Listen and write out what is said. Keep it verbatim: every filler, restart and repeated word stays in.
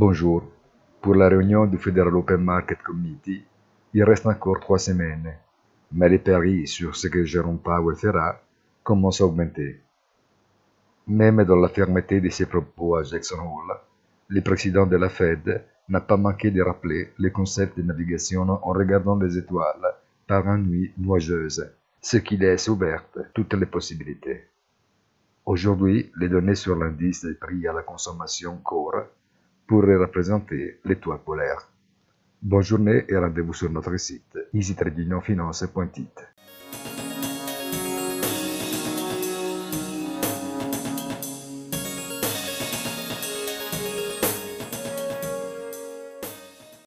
Bonjour. Pour la réunion du Federal Open Market Committee, il reste encore trois semaines, mais les paris sur ce que Jérôme Powell fera commencent à augmenter. Même dans la fermeté de ses propos à Jackson Hole, le président de la Fed n'a pas manqué de rappeler le concept de navigation en regardant les étoiles par une nuit nuageuse, ce qui laisse ouvertes toutes les possibilités. Aujourd'hui, les données sur l'indice des prix à la consommation Core pourraient représenter l'étoile polaire. Bonne journée et rendez-vous sur notre site easy trading finance point it.